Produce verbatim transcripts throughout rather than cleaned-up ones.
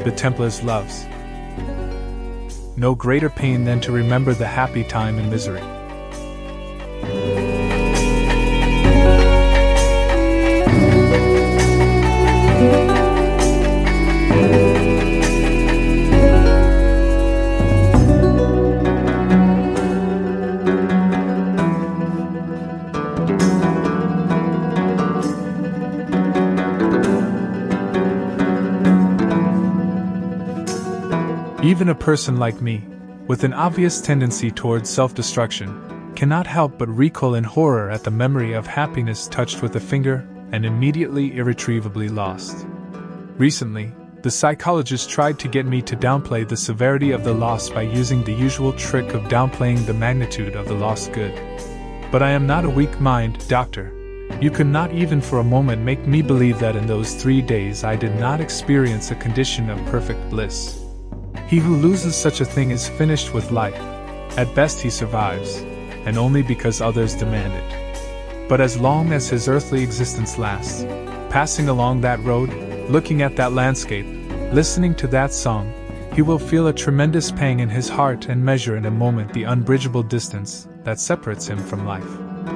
the Templars' loves. No greater pain than to remember the happy time in misery. Even a person like me, with an obvious tendency towards self-destruction, cannot help but recoil in horror at the memory of happiness touched with a finger and immediately irretrievably lost. Recently, the psychologist tried to get me to downplay the severity of the loss by using the usual trick of downplaying the magnitude of the lost good. But I am not a weak mind, doctor. You could not even for a moment make me believe that in those three days I did not experience a condition of perfect bliss. He who loses such a thing is finished with life. At best he survives, and only because others demand it. But as long as his earthly existence lasts, passing along that road, looking at that landscape, listening to that song, he will feel a tremendous pang in his heart and measure in a moment the unbridgeable distance that separates him from life.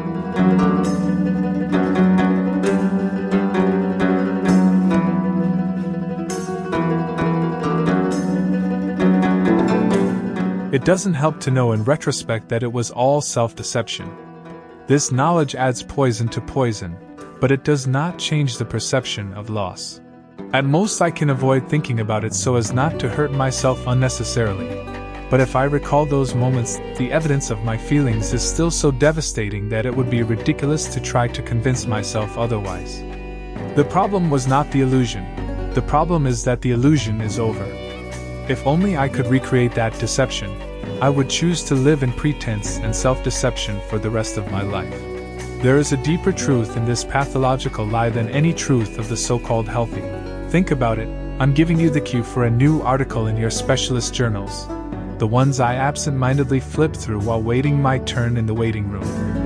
It doesn't help to know in retrospect that it was all self-deception. This knowledge adds poison to poison, but it does not change the perception of loss. At most I can avoid thinking about it so as not to hurt myself unnecessarily. But if I recall those moments, the evidence of my feelings is still so devastating that it would be ridiculous to try to convince myself otherwise. The problem was not the illusion. The problem is that the illusion is over. If only I could recreate that deception, I would choose to live in pretense and self-deception for the rest of my life. There is a deeper truth in this pathological lie than any truth of the so-called healthy. Think about it. I'm giving you the cue for a new article in your specialist journals, the ones I absent-mindedly flip through while waiting my turn in the waiting room.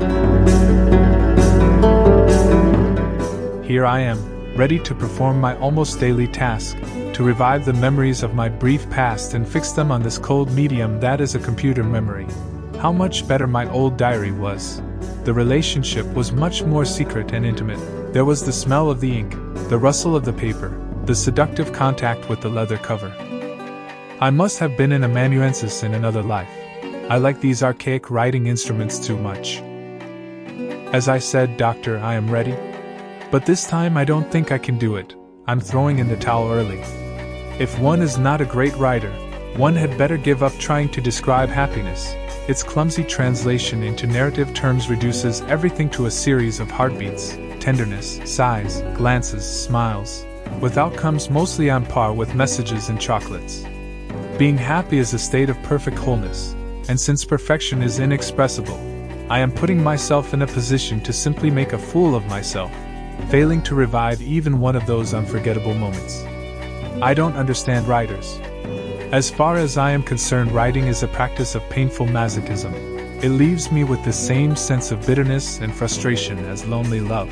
Here I am, ready to perform my almost daily task, to revive the memories of my brief past and fix them on this cold medium that is a computer memory. How much better my old diary was. The relationship was much more secret and intimate. There was the smell of the ink, the rustle of the paper, the seductive contact with the leather cover. I must have been an amanuensis in another life. I like these archaic writing instruments too much. As I said, doctor, I am ready. But this time I don't think I can do it. I'm throwing in the towel early. If one is not a great writer, one had better give up trying to describe happiness. Its clumsy translation into narrative terms reduces everything to a series of heartbeats, tenderness, sighs, glances, smiles, with outcomes mostly on par with messages and chocolates. Being happy is a state of perfect wholeness, and since perfection is inexpressible, I am putting myself in a position to simply make a fool of myself, failing to revive even one of those unforgettable moments. I don't understand writers. As far as I am concerned, writing is a practice of painful masochism. It leaves me with the same sense of bitterness and frustration as lonely love.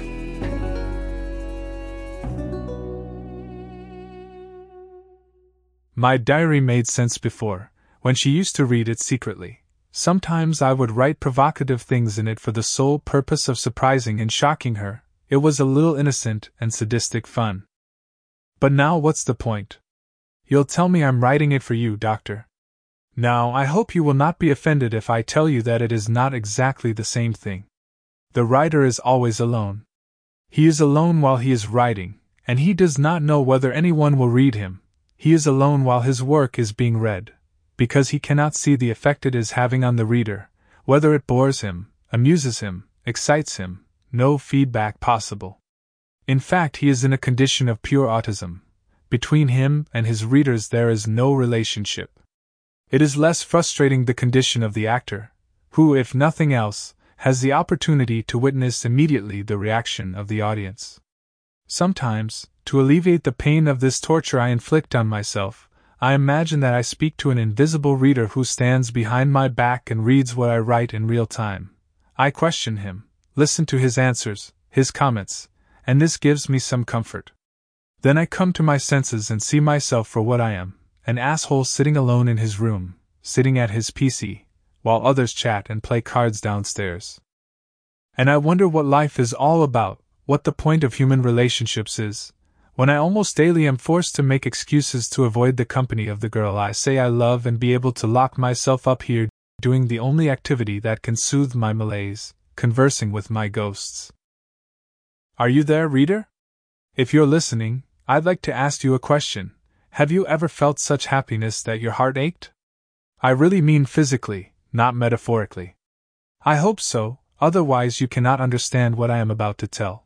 My diary made sense before, when she used to read it secretly. Sometimes I would write provocative things in it for the sole purpose of surprising and shocking her. It was a little innocent and sadistic fun. But now what's the point? You'll tell me I'm writing it for you, doctor. Now, I hope you will not be offended if I tell you that it is not exactly the same thing. The writer is always alone. He is alone while he is writing, and he does not know whether anyone will read him. He is alone while his work is being read, because he cannot see the effect it is having on the reader, whether it bores him, amuses him, excites him, no feedback possible. In fact, he is in a condition of pure autism. Between him and his readers there is no relationship. It is less frustrating the condition of the actor, who, if nothing else, has the opportunity to witness immediately the reaction of the audience. Sometimes, to alleviate the pain of this torture I inflict on myself, I imagine that I speak to an invisible reader who stands behind my back and reads what I write in real time. I question him, listen to his answers, his comments, and this gives me some comfort. Then I come to my senses and see myself for what I am, an asshole sitting alone in his room, sitting at his P C, while others chat and play cards downstairs. And I wonder what life is all about, what the point of human relationships is, when I almost daily am forced to make excuses to avoid the company of the girl I say I love and be able to lock myself up here doing the only activity that can soothe my malaise, conversing with my ghosts. Are you there, reader? If you're listening, I'd like to ask you a question. Have you ever felt such happiness that your heart ached? I really mean physically, not metaphorically. I hope so, otherwise you cannot understand what I am about to tell.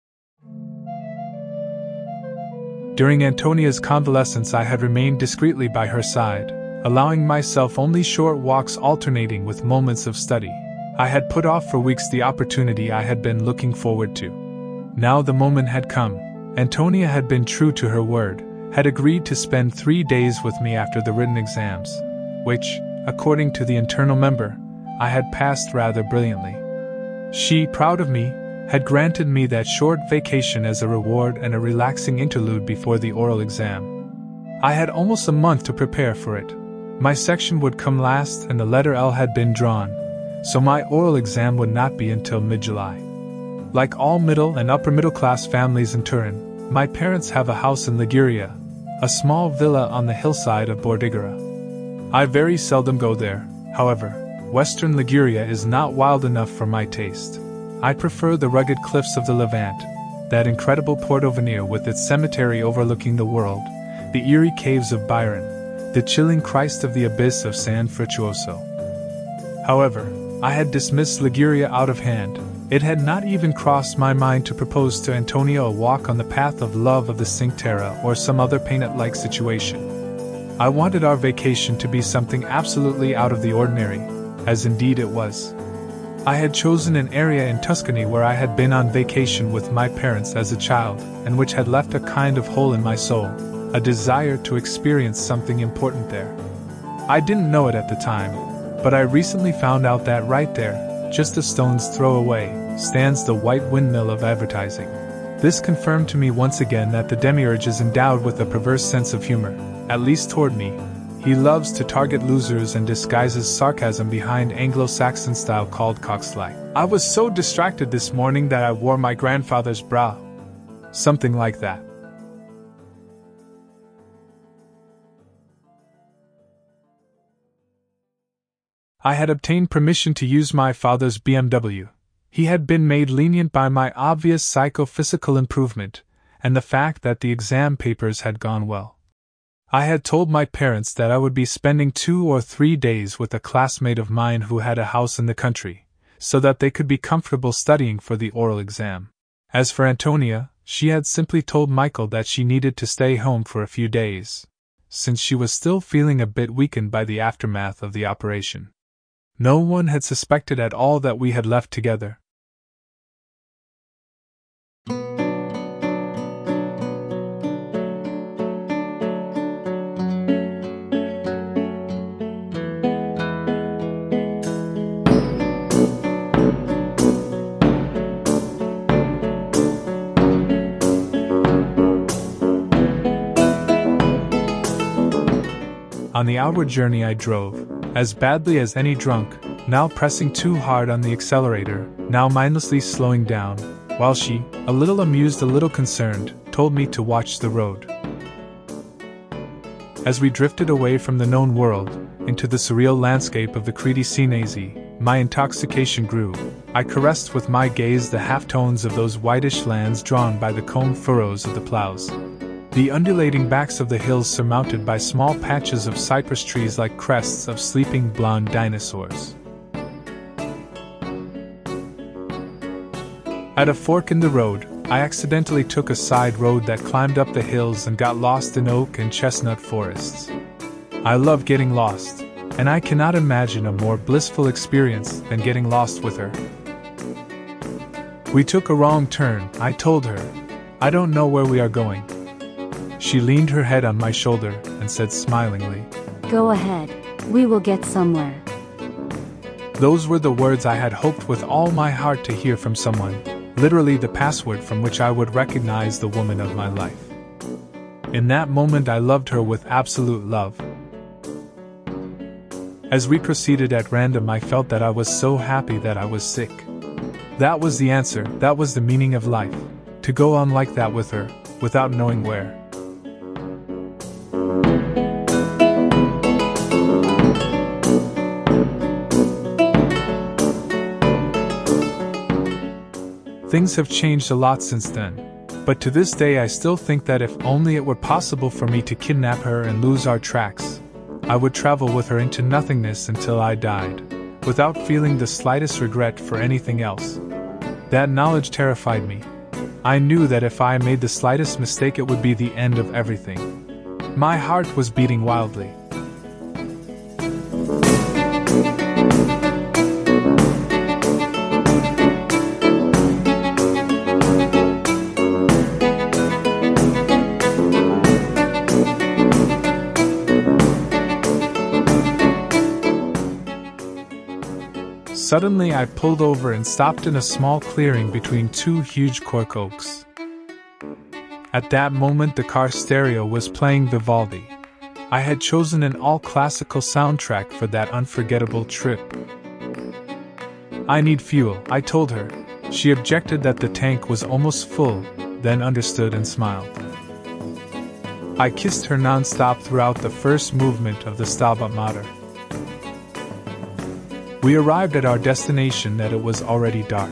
During Antonia's convalescence I had remained discreetly by her side, allowing myself only short walks alternating with moments of study. I had put off for weeks the opportunity I had been looking forward to. Now the moment had come. Antonia had been true to her word, had agreed to spend three days with me after the written exams, which, according to the internal member, I had passed rather brilliantly. She, proud of me, had granted me that short vacation as a reward and a relaxing interlude before the oral exam. I had almost a month to prepare for it. My section would come last and the letter L had been drawn, so my oral exam would not be until mid-July. Like all middle and upper middle class families in Turin, my parents have a house in Liguria, a small villa on the hillside of Bordighera. I very seldom go there, however. Western Liguria is not wild enough for my taste. I prefer the rugged cliffs of the Levant, that incredible Porto-Venere with its cemetery overlooking the world, the eerie caves of Byron, the chilling Christ of the abyss of San Frutuoso. However, I had dismissed Liguria out of hand. It had not even crossed my mind to propose to Antonia a walk on the path of love of the Cinque Terre or some other Peanut-like situation. I wanted our vacation to be something absolutely out of the ordinary, as indeed it was. I had chosen an area in Tuscany where I had been on vacation with my parents as a child, and which had left a kind of hole in my soul, a desire to experience something important there. I didn't know it at the time, but I recently found out that right there, just a stone's throw away, stands the white windmill of advertising. This confirmed to me once again that the demiurge is endowed with a perverse sense of humor, at least toward me. He loves to target losers and disguises sarcasm behind Anglo-Saxon style called coxswain. I was so distracted this morning that I wore my grandfather's brow. Something like that. I had obtained permission to use my father's B M W. He had been made lenient by my obvious psychophysical improvement, and the fact that the exam papers had gone well. I had told my parents that I would be spending two or three days with a classmate of mine who had a house in the country, so that they could be comfortable studying for the oral exam. As for Antonia, she had simply told Michael that she needed to stay home for a few days, since she was still feeling a bit weakened by the aftermath of the operation. No one had suspected at all that we had left together. On the outward journey I drove, as badly as any drunk, now pressing too hard on the accelerator, now mindlessly slowing down, while she, a little amused, a little concerned, told me to watch the road. As we drifted away from the known world, into the surreal landscape of the Credi Cinesi, my intoxication grew. I caressed with my gaze the half-tones of those whitish lands drawn by the combed furrows of the plows. The undulating backs of the hills surmounted by small patches of cypress trees like crests of sleeping blonde dinosaurs. At a fork in the road, I accidentally took a side road that climbed up the hills and got lost in oak and chestnut forests. I love getting lost, and I cannot imagine a more blissful experience than getting lost with her. We took a wrong turn, I told her. I don't know where we are going. She leaned her head on my shoulder and said smilingly, "Go ahead, we will get somewhere." Those were the words I had hoped with all my heart to hear from someone, literally the password from which I would recognize the woman of my life. In that moment I loved her with absolute love. As we proceeded at random, I felt that I was so happy that I was sick. That was the answer, that was the meaning of life. To go on like that with her, without knowing where. Things have changed a lot since then, but to this day I still think that if only it were possible for me to kidnap her and lose our tracks, I would travel with her into nothingness until I died, without feeling the slightest regret for anything else. That knowledge terrified me. I knew that if I made the slightest mistake it would be the end of everything. My heart was beating wildly. Suddenly I pulled over and stopped in a small clearing between two huge cork oaks. At that moment the car stereo was playing Vivaldi. I had chosen an all-classical soundtrack for that unforgettable trip. I need fuel, I told her. She objected that the tank was almost full, then understood and smiled. I kissed her non-stop throughout the first movement of the Stabat Mater. We arrived at our destination that it was already dark.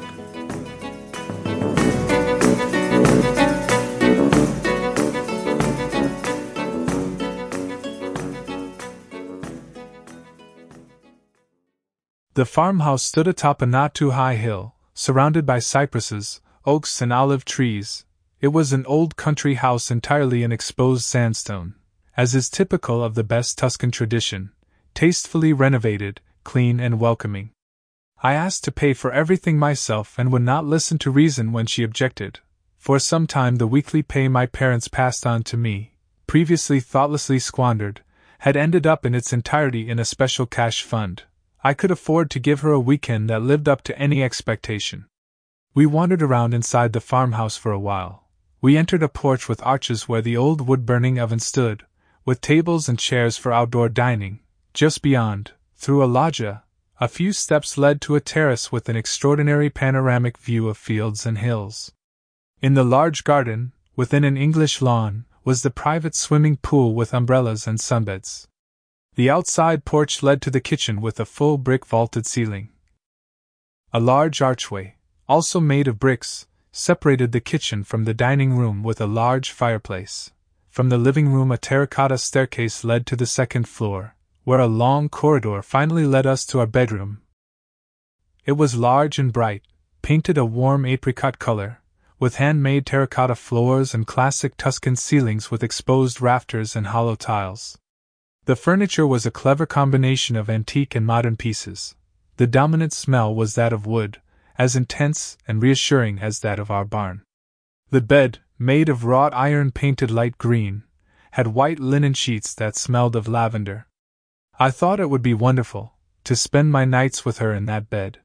The farmhouse stood atop a not too high hill, surrounded by cypresses, oaks and olive trees. It was an old country house entirely in exposed sandstone, as is typical of the best Tuscan tradition, tastefully renovated, clean and welcoming. I asked to pay for everything myself and would not listen to reason when she objected. For some time the weekly pay my parents passed on to me, previously thoughtlessly squandered, had ended up in its entirety in a special cash fund. I could afford to give her a weekend that lived up to any expectation. We wandered around inside the farmhouse for a while. We entered a porch with arches where the old wood-burning oven stood, with tables and chairs for outdoor dining. Just beyond, through a loggia, a few steps led to a terrace with an extraordinary panoramic view of fields and hills. In the large garden, within an English lawn, was the private swimming pool with umbrellas and sunbeds. The outside porch led to the kitchen with a full brick vaulted ceiling. A large archway, also made of bricks, separated the kitchen from the dining room with a large fireplace. From the living room a terracotta staircase led to the second floor, where a long corridor finally led us to our bedroom. It was large and bright, painted a warm apricot color, with handmade terracotta floors and classic Tuscan ceilings with exposed rafters and hollow tiles. The furniture was a clever combination of antique and modern pieces. The dominant smell was that of wood, as intense and reassuring as that of our barn. The bed, made of wrought iron painted light green, had white linen sheets that smelled of lavender. I thought it would be wonderful to spend my nights with her in that bed.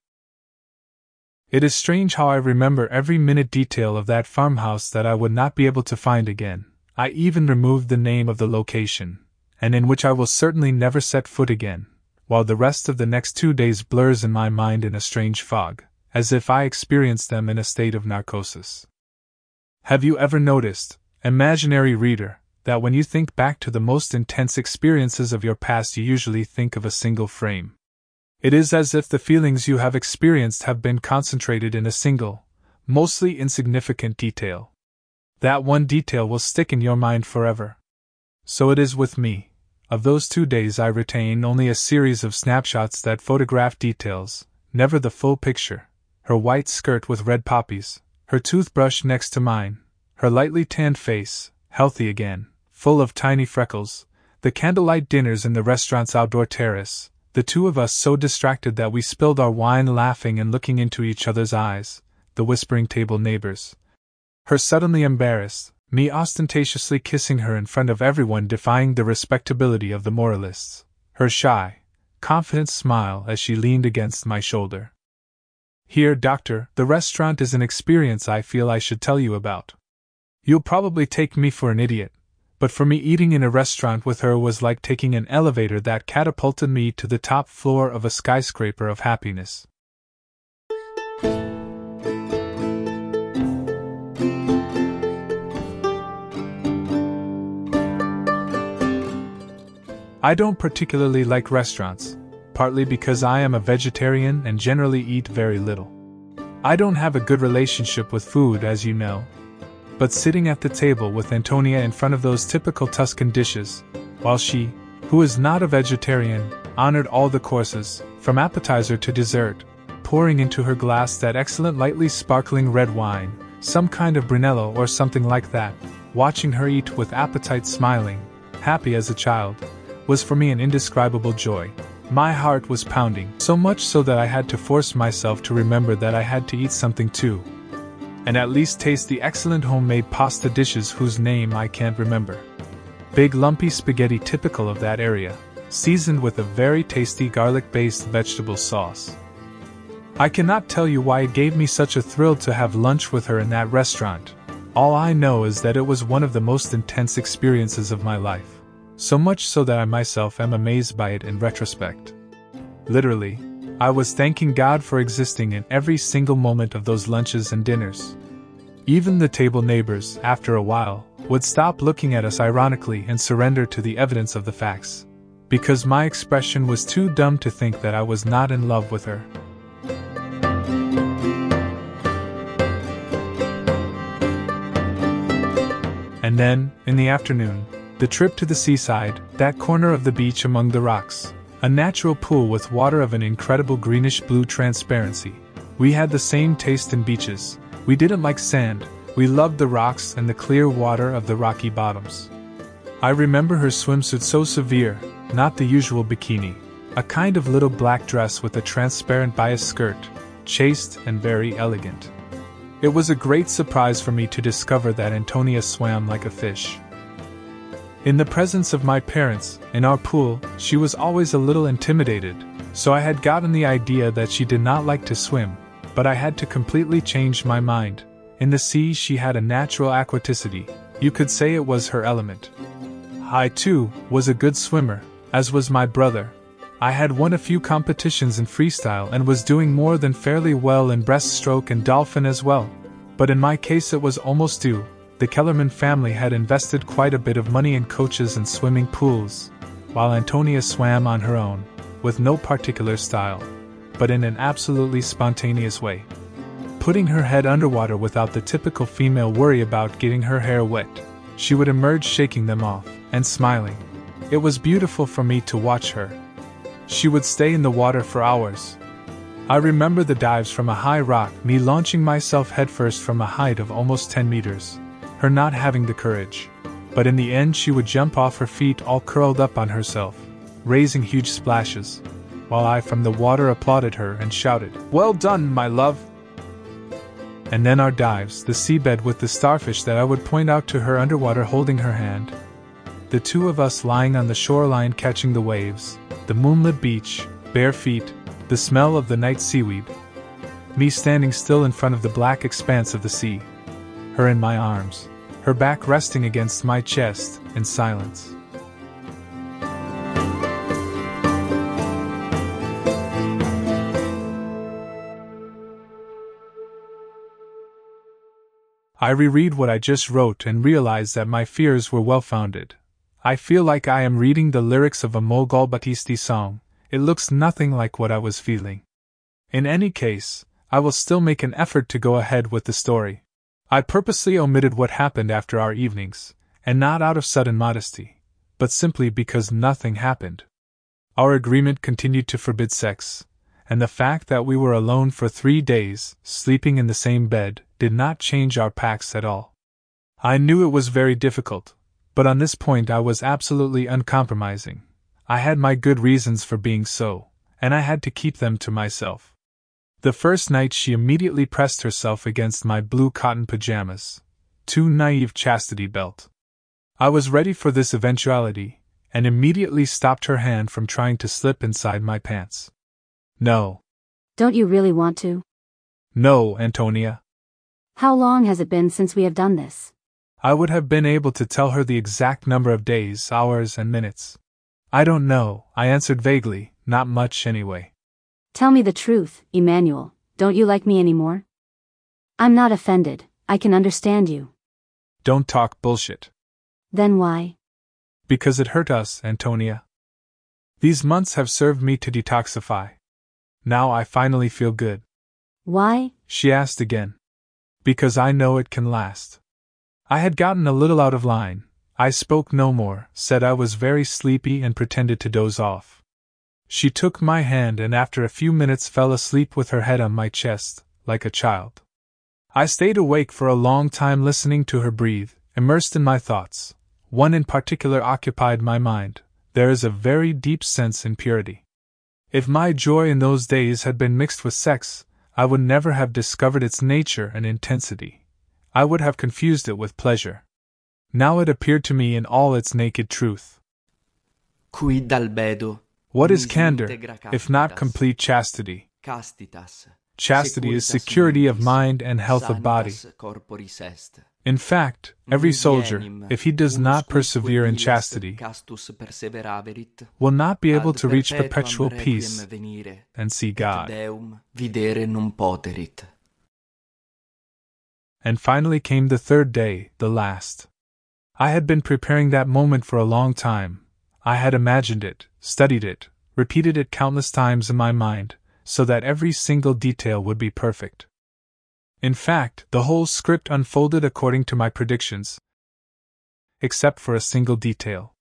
It is strange how I remember every minute detail of that farmhouse that I would not be able to find again. I even removed the name of the location, and in which I will certainly never set foot again, while the rest of the next two days blurs in my mind in a strange fog, as if I experienced them in a state of narcosis. Have you ever noticed, imaginary reader, that when you think back to the most intense experiences of your past you usually think of a single frame? It is as if the feelings you have experienced have been concentrated in a single, mostly insignificant detail. That one detail will stick in your mind forever. So it is with me. Of those two days I retain only a series of snapshots that photograph details, never the full picture. Her white skirt with red poppies, her toothbrush next to mine, her lightly tanned face, healthy again, full of tiny freckles, the candlelight dinners in the restaurant's outdoor terrace, the two of us so distracted that we spilled our wine laughing and looking into each other's eyes, the whispering table neighbors. Her suddenly embarrassed, me ostentatiously kissing her in front of everyone defying the respectability of the moralists, her shy, confident smile as she leaned against my shoulder. Here, doctor, the restaurant is an experience I feel I should tell you about. You'll probably take me for an idiot, but for me, eating in a restaurant with her was like taking an elevator that catapulted me to the top floor of a skyscraper of happiness. I don't particularly like restaurants, partly because I am a vegetarian and generally eat very little. I don't have a good relationship with food, as you know. But sitting at the table with Antonia in front of those typical Tuscan dishes, while she, who is not a vegetarian, honored all the courses, from appetizer to dessert, pouring into her glass that excellent lightly sparkling red wine, some kind of Brunello or something like that, watching her eat with appetite, smiling, happy as a child, was for me an indescribable joy. My heart was pounding, so much so that I had to force myself to remember that I had to eat something too, and at least taste the excellent homemade pasta dishes whose name I can't remember. Big lumpy spaghetti typical of that area, seasoned with a very tasty garlic-based vegetable sauce. I cannot tell you why it gave me such a thrill to have lunch with her in that restaurant. All I know is that it was one of the most intense experiences of my life, so much so that I myself am amazed by it in retrospect. Literally, I was thanking God for existing in every single moment of those lunches and dinners. Even the table neighbors, after a while, would stop looking at us ironically and surrender to the evidence of the facts, because my expression was too dumb to think that I was not in love with her. And then, in the afternoon, the trip to the seaside, that corner of the beach among the rocks, a natural pool with water of an incredible greenish-blue transparency. We had the same taste in beaches. We didn't like sand, we loved the rocks and the clear water of the rocky bottoms. I remember her swimsuit so severe, not the usual bikini, a kind of little black dress with a transparent bias skirt, chaste and very elegant. It was a great surprise for me to discover that Antonia swam like a fish. In the presence of my parents, in our pool, she was always a little intimidated, so I had gotten the idea that she did not like to swim, but I had to completely change my mind. In the sea she had a natural aquaticity, you could say it was her element. I too was a good swimmer, as was my brother. I had won a few competitions in freestyle and was doing more than fairly well in breaststroke and dolphin as well, but in my case it was almost due. The Kellerman family had invested quite a bit of money in coaches and swimming pools, while Antonia swam on her own, with no particular style, but in an absolutely spontaneous way, putting her head underwater without the typical female worry about getting her hair wet. She would emerge shaking them off, and smiling. It was beautiful for me to watch her. She would stay in the water for hours. I remember the dives from a high rock, me launching myself headfirst from a height of almost ten meters. Her not having the courage. But in the end she would jump off her feet all curled up on herself, raising huge splashes, while I from the water applauded her and shouted, "Well done, my love!" And then our dives, the seabed with the starfish that I would point out to her underwater holding her hand. The two of us lying on the shoreline catching the waves, the moonlit beach, bare feet, the smell of the night seaweed. Me standing still in front of the black expanse of the sea. Her in my arms. Her back resting against my chest, in silence. I reread what I just wrote and realize that my fears were well-founded. I feel like I am reading the lyrics of a Mogol Battisti song. It looks nothing like what I was feeling. In any case, I will still make an effort to go ahead with the story. I purposely omitted what happened after our evenings, and not out of sudden modesty, but simply because nothing happened. Our agreement continued to forbid sex, and the fact that we were alone for three days, sleeping in the same bed, did not change our pacts at all. I knew it was very difficult, but on this point I was absolutely uncompromising. I had my good reasons for being so, and I had to keep them to myself. The first night she immediately pressed herself against my blue cotton pajamas, too naive chastity belt. I was ready for this eventuality, and immediately stopped her hand from trying to slip inside my pants. No. Don't you really want to? No, Antonia. How long has it been since we have done this? I would have been able to tell her the exact number of days, hours, and minutes. I don't know, I answered vaguely, not much anyway. Tell me the truth, Emmanuel, don't you like me anymore? I'm not offended, I can understand you. Don't talk bullshit. Then why? Because it hurt us, Antonia. These months have served me to detoxify. Now I finally feel good. Why? She asked again. Because I know it can last. I had gotten a little out of line. I spoke no more, said I was very sleepy and pretended to doze off. She took my hand and after a few minutes fell asleep with her head on my chest, like a child. I stayed awake for a long time listening to her breathe, immersed in my thoughts. One in particular occupied my mind. There is a very deep sense in purity. If my joy in those days had been mixed with sex, I would never have discovered its nature and intensity. I would have confused it with pleasure. Now it appeared to me in all its naked truth. Quid albedo. What is candor, if not complete chastity? Chastity is security of mind and health of body. In fact, every soldier, if he does not persevere in chastity, will not be able to reach perpetual peace and see God. And finally came the third day, the last. I had been preparing that moment for a long time. I had imagined it, studied it, repeated it countless times in my mind, so that every single detail would be perfect. In fact, the whole script unfolded according to my predictions, except for a single detail.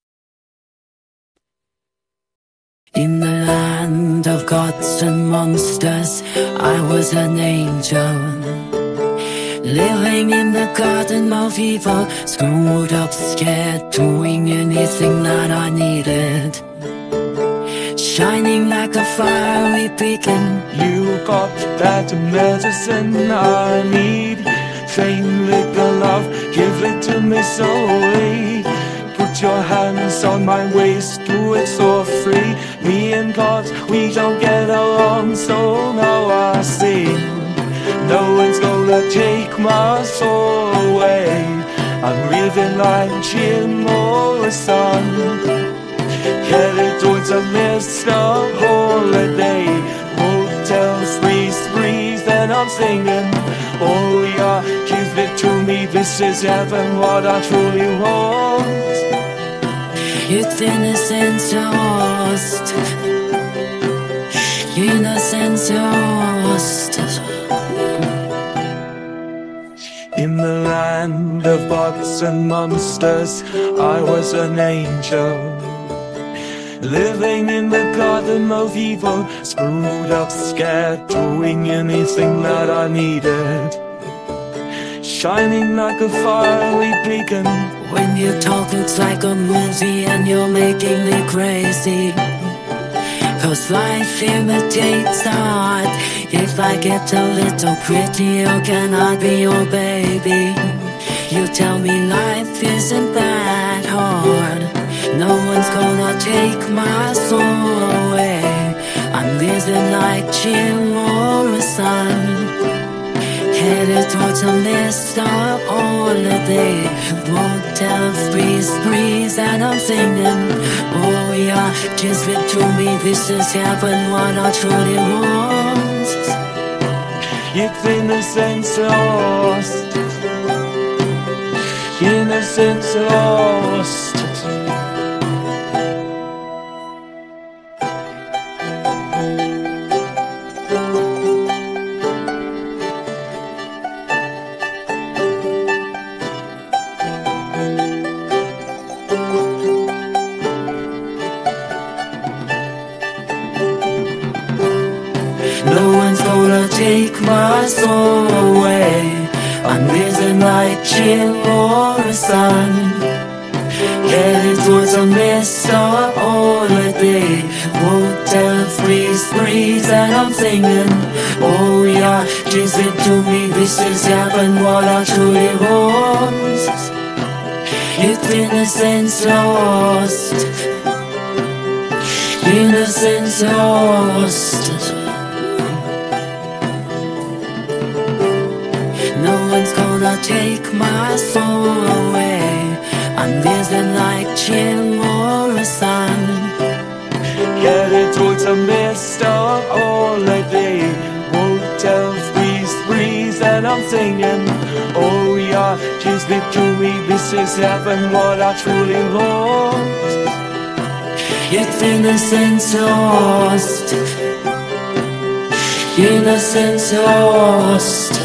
In the land of gods and monsters, I was an angel. Living in the garden of evil, screwed up, scared, doing anything that I needed. Shining like a fiery beacon. You got that medicine I need. Fame, liquor, love, give it to me slowly. Put your hands on my waist, do it so free. Me and God, we don't get along, so now I see. No one's gonna take my soul away. I'm living like Jim Morrison, headed towards a mist of holiday. Motels, breeze, breeze, and I'm singing. Oh yeah, give it to me, this is heaven, what I truly want. It's innocence lost, innocence lost. In the land of bugs and monsters, I was an angel. Living in the garden of evil, screwed up, scared, doing anything that I needed. Shining like a fiery beacon. When you talk it's like a movie and you're making me crazy. Cause life imitates art. If I get a little prettier, can I be your baby? You tell me life isn't that hard. No one's gonna take my soul away. I'm living like Jim Morrison, headed towards a mist of holiday. Motel, breeze, breeze, and I'm singing. Oh yeah, just it to me, this is heaven, what I truly want. It's innocence lost, innocence lost. No one's gonna take my soul away. I'm living like Jim Morrison, headed towards a mist of holiday. Motel, freeze, breeze, and I'm singing. Oh yeah, just it to me, this is heaven, what I truly want. It's innocence lost, innocence lost. No one's gonna take my soul away. I'm living like Jim Morrison. Headed towards a mist of holiday. Motel threes, threes, and I'm singing. Oh yeah, she's victory, this is heaven, what I truly lost. It's innocence lost. Innocence lost.